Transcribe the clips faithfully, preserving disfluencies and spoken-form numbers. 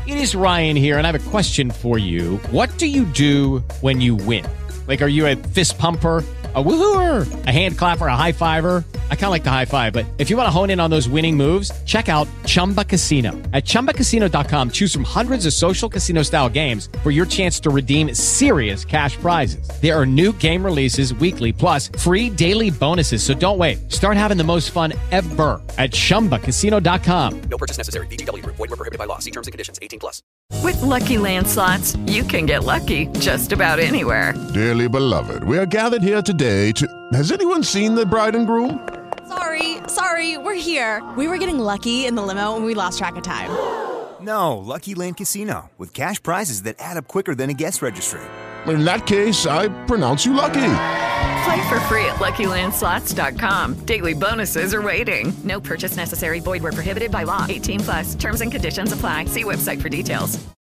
It is Ryan here, and I have a question for you. What do you do when you win? Like, are you a fist pumper, a woohooer, a hand clapper, a high fiver? I kind of like the high five, but if you want to hone in on those winning moves, check out Chumba Casino. At chumba casino dot com, choose from hundreds of social casino style games for your chance to redeem serious cash prizes. There are new game releases weekly, plus free daily bonuses. So don't wait. Start having the most fun ever at chumba casino dot com. No purchase necessary. V G W Group. Void where prohibited by law. See terms and conditions. eighteen plus. With Lucky Land Slots, you can get lucky just about anywhere. Dearly beloved, we are gathered here today to... Has anyone seen the bride and groom? Sorry, sorry, we're here. We were getting lucky in the limo and we lost track of time. No, Lucky Land Casino, with cash prizes that add up quicker than a guest registry. In that case, I pronounce you lucky. Play for free at lucky land slots dot com. Daily bonuses are waiting. No purchase necessary. Void where prohibited by law. eighteen plus. Terms and conditions apply. See website for details.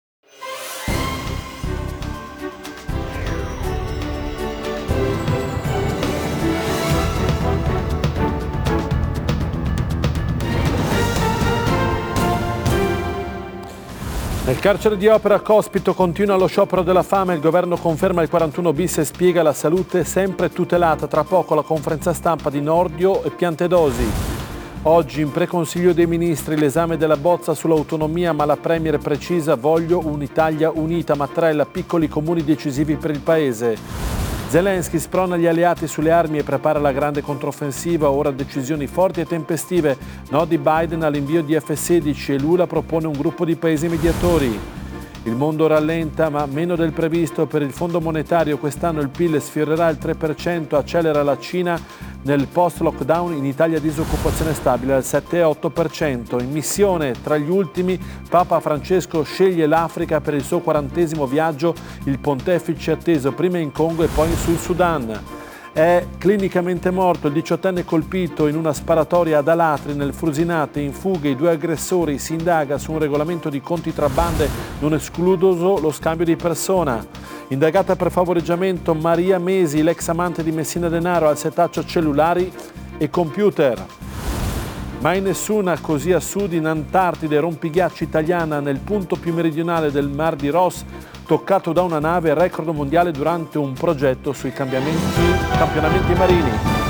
Nel carcere di Opera Cospito continua lo sciopero della fame, il governo conferma il quarantuno bis e spiega la salute sempre tutelata. Tra poco la conferenza stampa di Nordio e Piantedosi. Oggi in preconsiglio dei ministri l'esame della bozza sull'autonomia, ma la Premier precisa: voglio un'Italia unita, Mattarella, piccoli comuni decisivi per il paese. Zelensky sprona gli alleati sulle armi e prepara la grande controffensiva, ora decisioni forti e tempestive. No di Biden all'invio di F sedici e Lula propone un gruppo di paesi mediatori. Il mondo rallenta, ma meno del previsto per il Fondo Monetario. Quest'anno il P I L sfiorerà il tre per cento, accelera la Cina. Nel post-lockdown in Italia disoccupazione stabile al sette virgola otto per cento. In missione tra gli ultimi, Papa Francesco sceglie l'Africa per il suo quarantesimo viaggio. Il pontefice atteso prima in Congo e poi sul Sudan. È clinicamente morto il diciottenne colpito in una sparatoria ad Alatri nel Frusinate, in fuga i due aggressori. Si indaga su un regolamento di conti tra bande, non escluso lo scambio di persona. Indagata per favoreggiamento Maria Mesi, l'ex amante di Messina Denaro, al setaccio cellulari e computer. Mai nessuna così a sud in Antartide, rompighiacci italiana nel punto più meridionale del Mar di Ross, toccato da una nave, record mondiale durante un progetto sui cambiamenti, campionamenti marini.